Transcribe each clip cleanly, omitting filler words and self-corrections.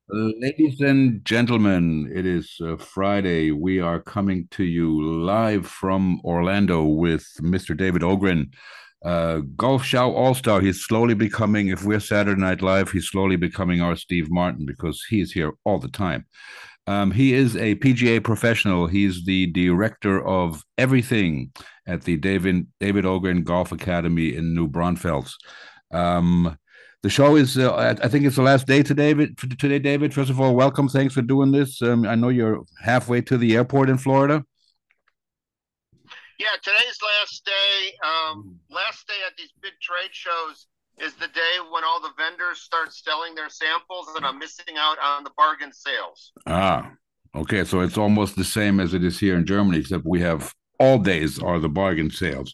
Ladies and gentlemen, it is Friday. We are coming to you live from Orlando with Mr. David Ogren, Golf Show All Star. He's slowly becoming, if we're Saturday Night Live, he's slowly becoming our Steve Martin because he's here all the time. He is a PGA professional. He's the director of everything at the David Ogren Golf Academy in New Braunfels. Um, the show is, I think it's the last day today, David. First of all, welcome. Thanks for doing this. I know you're halfway to the airport in Florida. Yeah, today's last day. Last day at these big trade shows is the day when all the vendors start selling their samples, and I'm missing out on the bargain sales. Ah, okay. So it's almost the same as it is here in Germany, except we have all days are the bargain sales.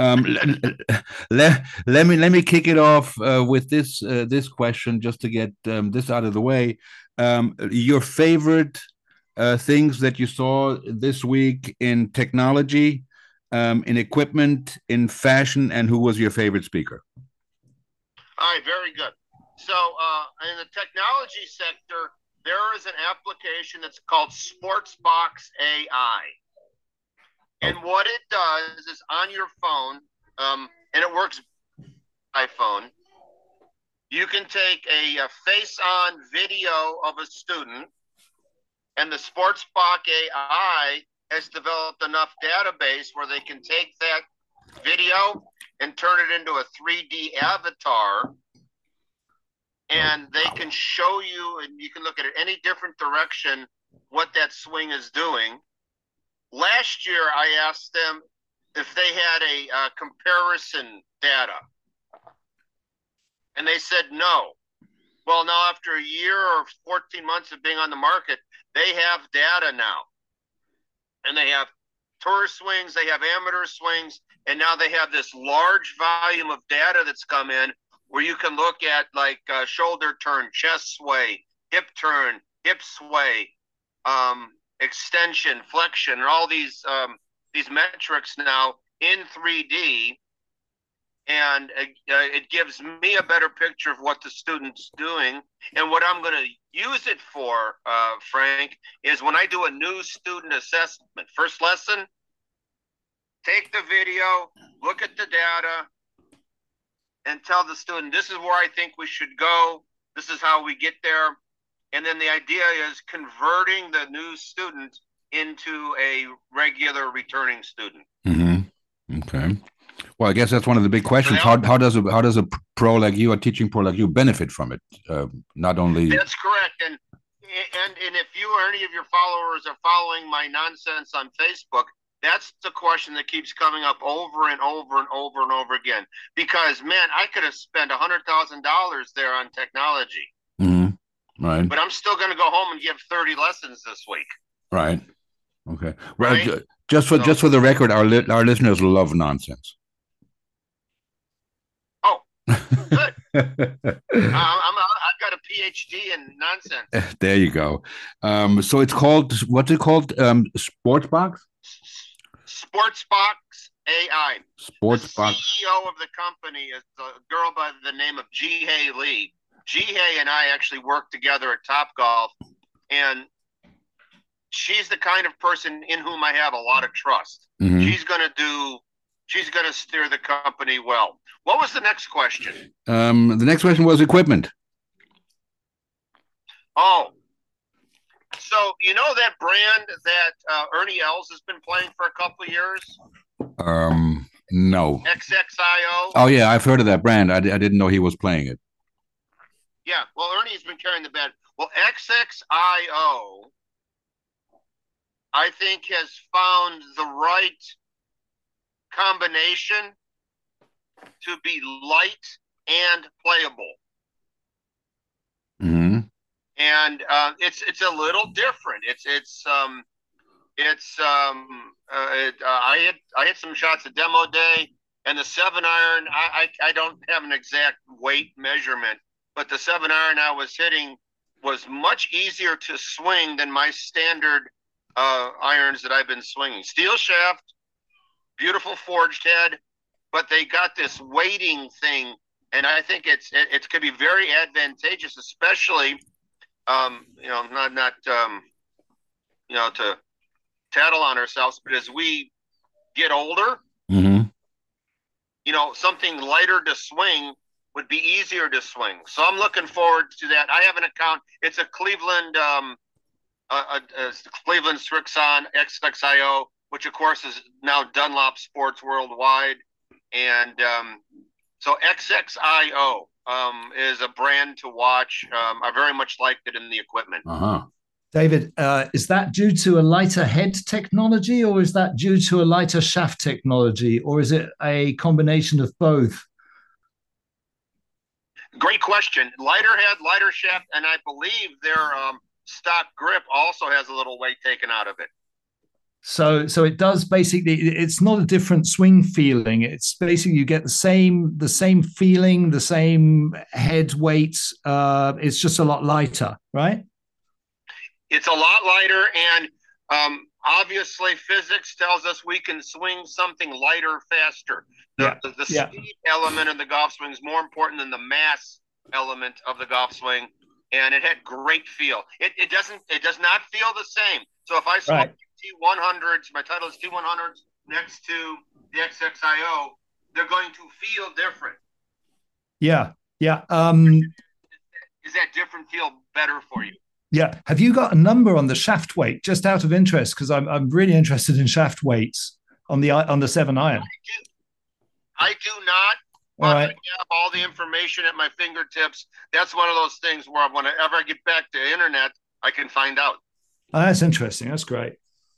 Let me kick it off with this question just to get this out of the way. Your favorite things that you saw this week in technology, in equipment, in fashion, and who was your favorite speaker? All right, very good. So, in the technology sector, there is an application that's called Sportsbox AI. Oh, And what it does is on your phone, and it works iPhone, you can take a face on video of a student, and the Sportsbox AI has developed enough database where they can take that video and turn it into a 3D avatar, oh, and they can show you, and you can look at it any different direction, what that swing is doing. Last year, I asked them if they had a comparison data, and they said no. Well, now after a year or 14 months of being on the market, they have data now, and they have tour swings, they have amateur swings, and now they have this large volume of data that's come in where you can look at like shoulder turn, chest sway, hip sway, extension, flexion, and all these metrics now in 3D, and it gives me a better picture of what the student's doing. And what I'm going to use it for, Frank, is when I do a new student assessment, first lesson, take the video, look at the data, and tell the student, this is where I think we should go. This is how we get there. And then the idea is converting the new student into a regular returning student. mm-hmm. Okay. Well, I guess that's one of the big So questions. that How does a pro like you, a teaching pro like you, benefit from it? Not only That's correct. And if you or any of your followers are following my nonsense on Facebook, that's the question that keeps coming up over and over and over and over again. Because man, I could have spent $100,000 there on technology, mhm, right, but I'm still going to go home and give 30 lessons this week, right, okay. Well, right? just So, for the record, our listeners love nonsense. oh, good. I've got a PhD in nonsense. There you go. So it's called what's it called? Sports box. Sportsbox AI. The Sports box. CEO of the company is a girl by the name of Jihei Lee. Jihei and I actually worked together at Topgolf, and she's the kind of person in whom I have a lot of trust. Hmm. She's going to do. She's going to steer the company well. What was the next question? The next question was equipment. Oh, so you know that brand that Ernie Els has been playing for a couple of years, No. XXIO. Oh yeah, I've heard of that brand. I didn't know he was playing it. Yeah, well, Ernie's been carrying the bed. Well, XXIO, I think, has found the right combination to be light and playable. Hmm. And it's a little different. I hit some shots at demo day, and the 7 iron. I don't have an exact weight measurement, but the 7 iron I was hitting was much easier to swing than my standard irons that I've been swinging. Steel shaft, beautiful forged head, but they got this weighting thing, and I think it could be very advantageous, especially to tattle on ourselves, but as we get older, Mm-hmm. something lighter to swing would be easier to swing. So I'm looking forward to that. I have an account. It's a Cleveland, Cleveland Strixon XXIO, which of course is now Dunlop Sports Worldwide, and so XXIO is a brand to watch. I very much liked it in the equipment. Uh-huh. David, is that due to a lighter head technology, or is that due to a lighter shaft technology, or is it a combination of both? Great question. Lighter head, lighter shaft, and I believe their stock grip also has a little weight taken out of it. So it does basically. It's not a different swing feeling. It's basically you get the same feeling, the same head weight. It's just a lot lighter, right? It's a lot lighter, and obviously physics tells us we can swing something lighter faster. The speed element of the golf swing is more important than the mass element of the golf swing, and it had great feel. It does not feel the same. So if I swap T100s, my Titleist T100s next to the XXIO, they're going to feel different. Yeah. Is that different feel better for you? Yeah. Have you got a number on the shaft weight, just out of interest? Because I'm really interested in shaft weights on the 7-iron. I do not. But I have all the information at my fingertips. That's one of those things where whenever I get back to the internet, I can find out. Oh, that's interesting. That's great.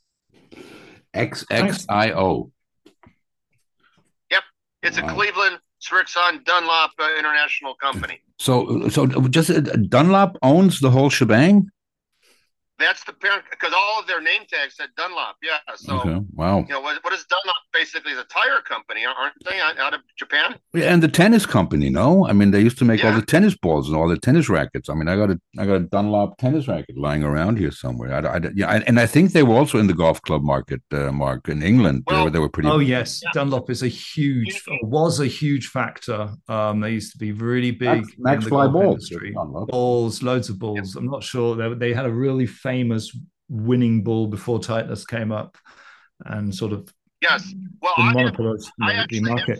XXIO. Yep. It's a Cleveland Strixon Dunlop international company. So just Dunlop owns the whole shebang? That's the parent, because all of their name tags said Dunlop. Yeah. So, wow. What is Dunlop basically? Is a tire company, aren't they, out of Japan? Yeah, and the tennis company, no? I mean, they used to make all the tennis balls and all the tennis rackets. I mean, I got a Dunlop tennis racket lying around here somewhere. And I think they were also in the golf club market, Mark, in England. They were pretty. Oh yes, Dunlop is was a huge factor. They used to be really big Max in the Fly golf balls. industry. Balls, loads of balls. I'm not sure they had a really famous winning ball before Titleist came up and sort of monopolized the market.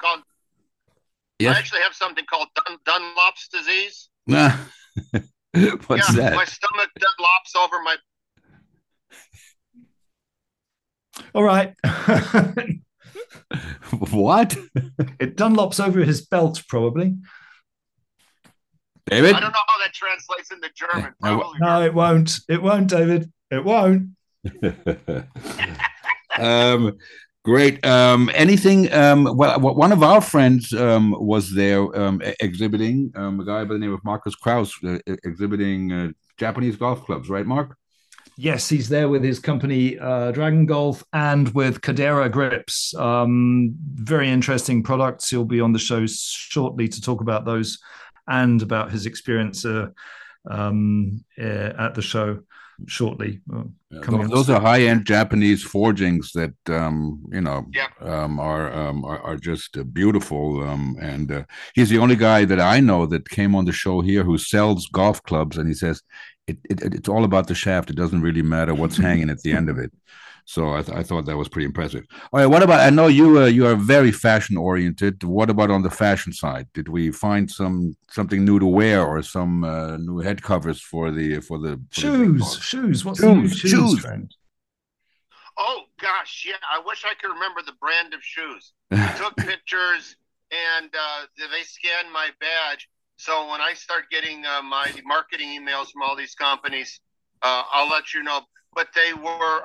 I actually have something called Dunlop's disease. What's that? My stomach Dunlops over my. All right. What? It Dunlops over his belt, probably. David? I don't know how that translates into German. No, it won't. It won't, David. It won't. Great. Anything? Well, one of our friends was there exhibiting, a guy by the name of Marcus Kraus, exhibiting Japanese golf clubs, right, Mark? Yes, he's there with his company, Dragon Golf, and with Cadera Grips. Very interesting products. He'll be on the show shortly to talk about those and about his experience at the show shortly. Those are high-end Japanese forgings that are just beautiful. And he's the only guy that I know that came on the show here who sells golf clubs, and he says it's all about the shaft. It doesn't really matter what's hanging at the end of it. So I thought that was pretty impressive. All right, what about? I know you are very fashion oriented. What about on the fashion side? Did we find something new to wear or some new head covers for the shoes? Shoes. What's the new shoes trend? Oh gosh, yeah. I wish I could remember the brand of shoes. I took pictures and they scanned my badge. So when I start getting my marketing emails from all these companies, I'll let you know. But they were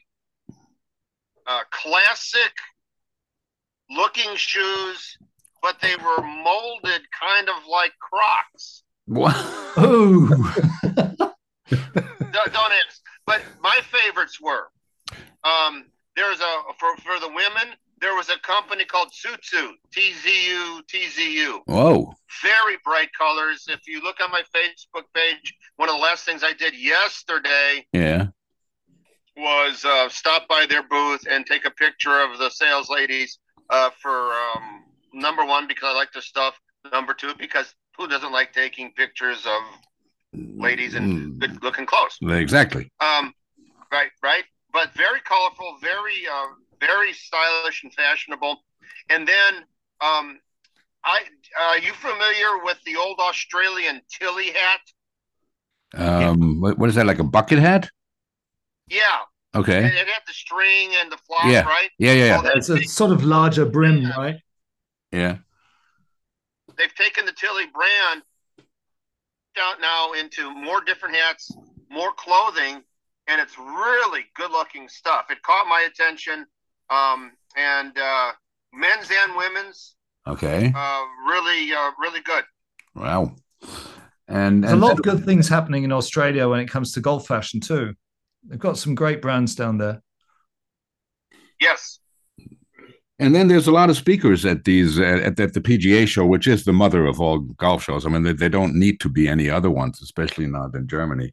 classic looking shoes, but they were molded kind of like Crocs. What? Oh. Don't ask. But my favorites were there's for the women, there was a company called Tsutsu, TZU. Whoa. Very bright colors. If you look on my Facebook page, one of the last things I did yesterday was stop by their booth and take a picture of the sales ladies for number one, because I like their stuff. Number two, because who doesn't like taking pictures of ladies and good-looking clothes. Exactly. Right. But very colorful, very stylish and fashionable. And then, are you familiar with the old Australian Tilly hat? What is that, like a bucket hat? Yeah. Okay. It had the string and the flap, Yeah. right? Yeah. Oh, it's a sort of larger brim, right? Yeah. They've taken the Tilly brand out now into more different hats, more clothing, and it's really good-looking stuff. It caught my attention, and men's and women's. Okay. Really good. Wow. And there's a lot of good things happening in Australia when it comes to golf fashion too. They've got some great brands down there. Yes. And then there's a lot of speakers at these at the PGA show, which is the mother of all golf shows. I mean, they don't need to be any other ones, especially not in Germany.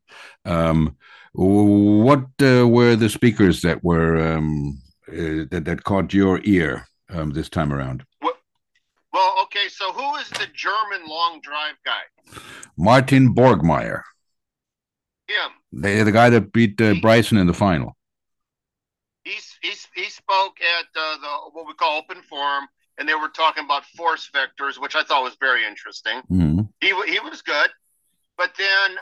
What were the speakers that were that caught your ear this time around? Well, okay. So who is the German long drive guy? Martin Borgmeier. Him. The guy that beat Bryson in the final. He spoke at the what we call open forum, and they were talking about force vectors, which I thought was very interesting. Mm-hmm. He was good, but then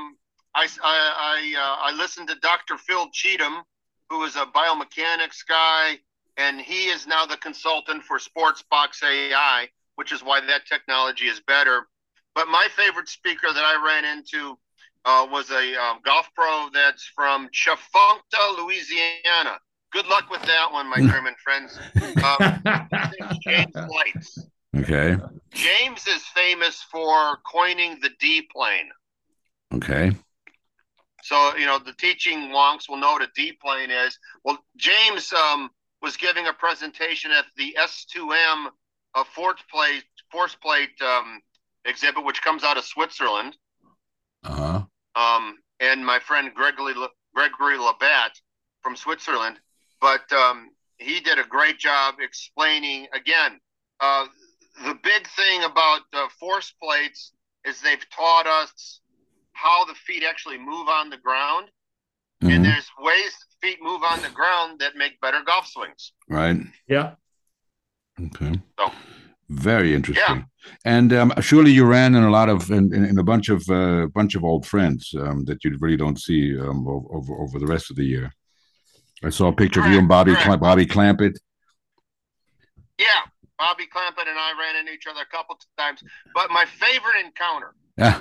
I listened to Dr. Phil Cheatham, who is a biomechanics guy, and he is now the consultant for Sportsbox AI, which is why that technology is better. But my favorite speaker that I ran into was a golf pro that's from Chafuncta, Louisiana. Good luck with that one, my German friends. James Lights. Okay. James is famous for coining the D plane. Okay. So, the teaching wonks will know what a D plane is. Well, James was giving a presentation at the S2M force plate exhibit, which comes out of Switzerland. Uh-huh. And my friend Gregory Labatt from Switzerland. But he did a great job explaining, again, the big thing about force plates is they've taught us how the feet actually move on the ground. Mm-hmm. And there's ways feet move on the ground that make better golf swings. Right. Yeah. Okay. So, very interesting. Yeah. And surely you ran in a bunch of old friends that you really don't see over the rest of the year. I saw a picture of you and Bobby Clampett. Yeah, Bobby Clampett and I ran into each other a couple of times. But my favorite encounter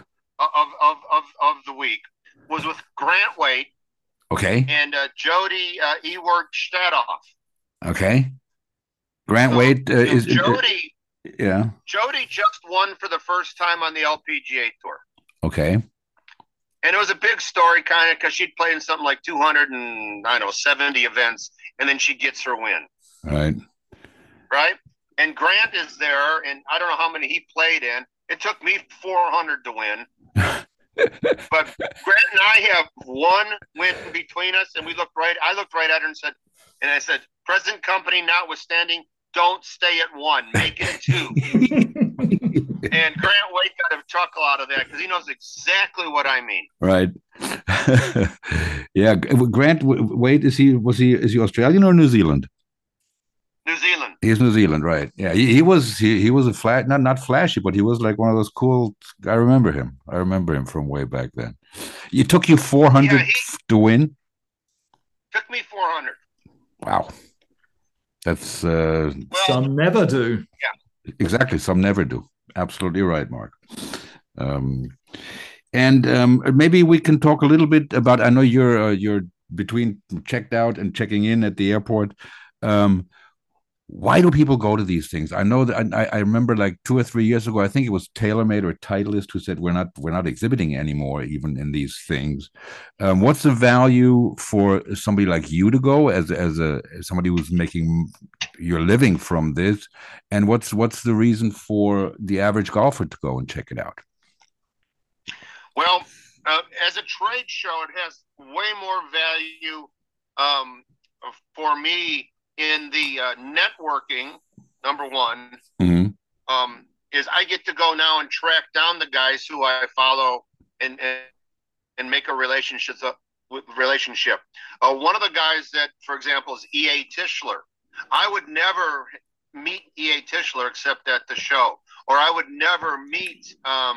of the week was with Grant Waite. Okay. And Jody Ewart Stadoff. Okay. Grant Waite is Jody. Yeah. Jody just won for the first time on the LPGA Tour. Okay. And it was a big story, kind of, because she'd played in something like 270 events, and then she gets her win. Right. Right? And Grant is there, and I don't know how many he played in. It took me 400 to win. But Grant and I have one win between us, and I looked right at her and I said, present company notwithstanding, don't stay at one, make it two. And Grant Waite got a chuckle out of that because he knows exactly what I mean. Right. Yeah. Grant Waite, is he Australian or New Zealand? New Zealand. He's New Zealand, right? Yeah. He was a flat, not flashy, but he was like one of those cool. I remember him from way back then. It took you 400 to win. Took me 400. Wow. That's some never do. Yeah. Exactly. Some never do. Absolutely right, Mark. And maybe we can talk a little bit about. I know you're between checked out and checking in at the airport. Why do people go to these things? I know that I remember like 2 or 3 years ago, I think it was TaylorMade or Titleist who said we're not exhibiting anymore, even in these things. What's the value for somebody like you to go as somebody who's making your living from this, and what's the reason for the average golfer to go and check it out? Well, as a trade show, it has way more value for me. In the networking, number one, mm-hmm. Is I get to go now and track down the guys who I follow and make a relationship. One of the guys that, for example, is E.A. Tischler. I would never meet E.A. Tischler except at the show, or I would never meet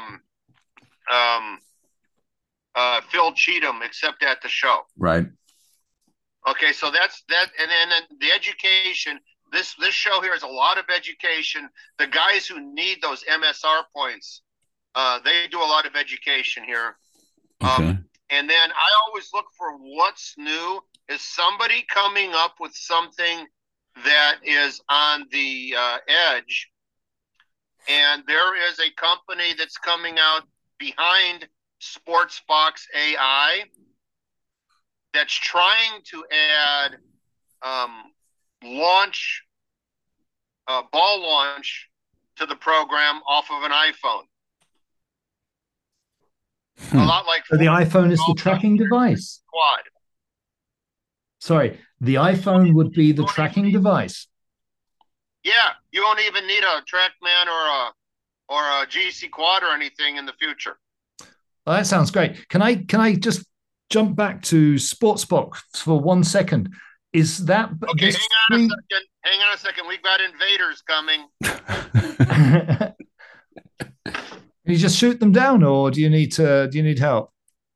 Phil Cheatham except at the show. Right. Okay, so that's that, and then the education. This show here is a lot of education. The guys who need those MSR points, they do a lot of education here. Okay. And then I always look for what's new. Is somebody coming up with something that is on the edge? And there is a company that's coming out behind SportsBox AI that's trying to add ball launch to the program off of an iPhone. A lot like so the iPhone is the tracking device. Quad. Sorry, the iPhone would be the tracking device. Yeah, you won't even need a TrackMan or a GC Quad or anything in the future. Well, that sounds great. Can I just jump back to SportsBox for 1 second? Is that okay? Hang on a second. We've got invaders coming. Can you just shoot them down, or do you need help?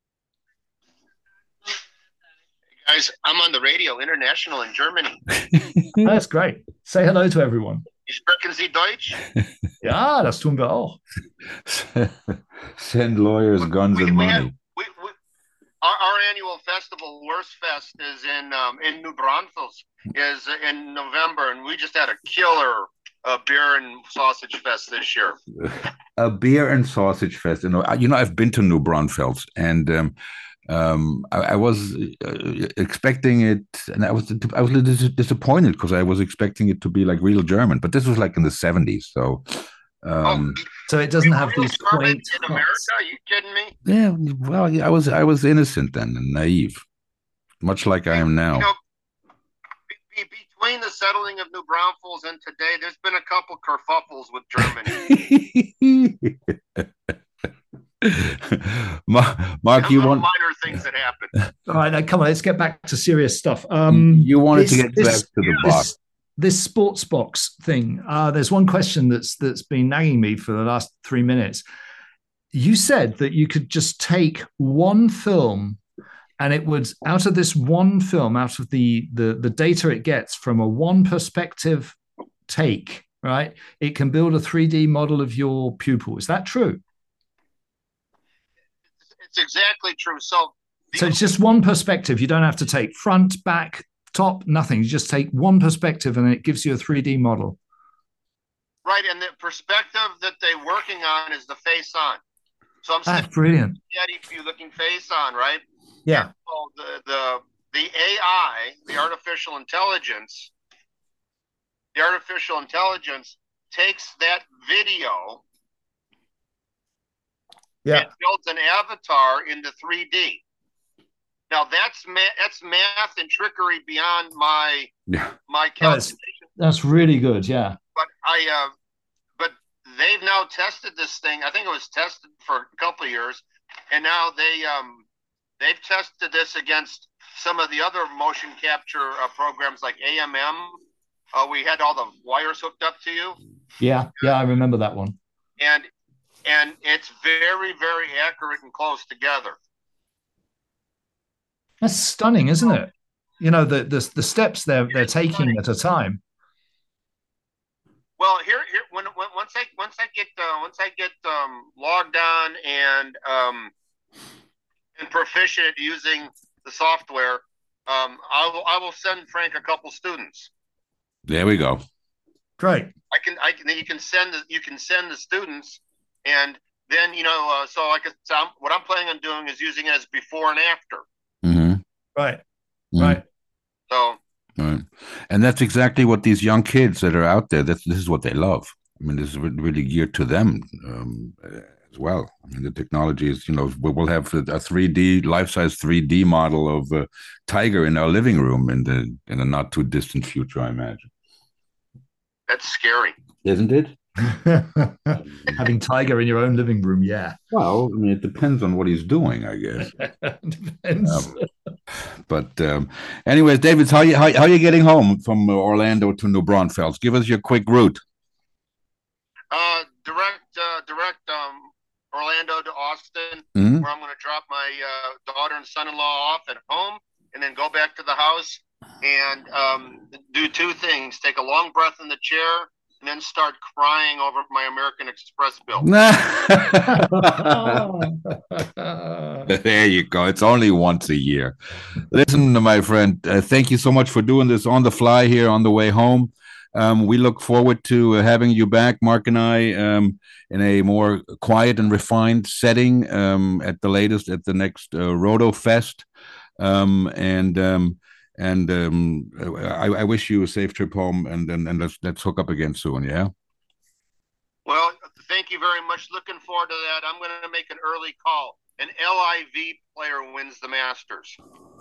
Hey guys, I'm on the radio international in Germany. That's great. Say hello to everyone. Sprechen Sie Deutsch? Ja, das tun wir auch. Send lawyers guns and money. Our annual festival, Wurstfest, is in New Braunfels, is in November, and we just had a killer beer and sausage fest this year. A beer and sausage fest. I've been to New Braunfels, and I was expecting it, and I was a little disappointed because I was expecting it to be like real German, but this was like in the 70s, so. So it doesn't have these quaint in America? Are you kidding me? Yeah, well, I was innocent then and naive, much like I am now. Between the settling of New Braunfels and today, there's been a couple kerfuffles with Germany. Mark, you want minor things that happen. All right, now, come on, let's get back to serious stuff. You wanted to get back to the box. This SportsBox thing. There's one question that's been nagging me for the last 3 minutes. You said that you could just take one film, and it would, out of this one film, out of the data it gets from a one perspective take, right? It can build a 3D model of your pupil. Is that true? It's exactly true. So it's just one perspective. You don't have to take front, back, top, nothing. You just take one perspective and it gives you a 3D model. Right, and the perspective that they're working on is the face on. So That's brilliant. Yeti looking face on, right? Yeah. So the AI, the artificial intelligence takes that video and builds an avatar into 3D. Now that's math and trickery beyond my calculation. That's really good, yeah. But they've now tested this thing. I think it was tested for a couple of years, and now they've tested this against some of the other motion capture programs like AMM. We had all the wires hooked up to you. Yeah, I remember that one. And it's very, very accurate and close together. That's stunning, isn't it? You know, the steps they're taking at a time. Well, here once I get logged on and proficient using the software, I will send Frank a couple students. There we go. Great. You can send the students, and then so what I'm planning on doing is using it as before and after. Mm-hmm. Right. Mm-hmm. Right. So. Right. And that's exactly what these young kids that are out there, this is what they love. I mean, this is really geared to them as well. I mean, the technology is, we'll have a 3D, life-size 3D model of a tiger in our living room in a not too distant future, I imagine. That's scary. Isn't it? Having Tiger in your own living room, yeah. Well, I mean, it depends on what he's doing, I guess. Depends. But anyways, David, how you getting home from Orlando to New Braunfels? Give us your quick route. Direct Orlando to Austin, Mhm. where I'm going to drop my daughter and son-in-law off at home, and then go back to the house and do two things: take a long breath in the chair, and then start crying over my American Express bill. There you go. It's only once a year. Listen, my friend, thank you so much for doing this on the fly here on the way home. We look forward to having you back, Mark and I, in a more quiet and refined setting at the latest at the next Roto Fest. I wish you a safe trip home, and let's hook up again soon. Yeah. Well, thank you very much. Looking forward to that. I'm going to make an early call. An LIV player wins the Masters.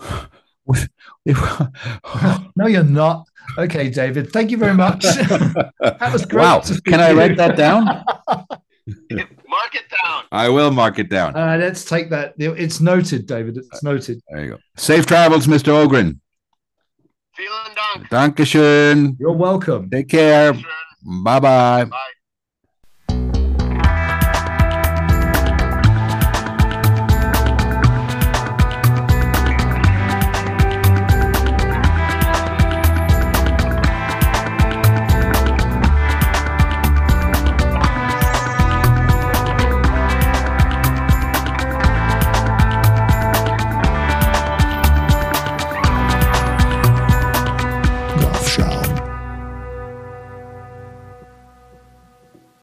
No, you're not. Okay, David. Thank you very much. That was great. Wow. Can I write that down? Mark it down. I will mark it down. Let's take that. It's noted, David. It's noted. There you go. Safe travels, Mr. Ogren. Vielen Dank. Dankeschön. You're welcome. Take care. Dankeschön. Bye-bye. Bye.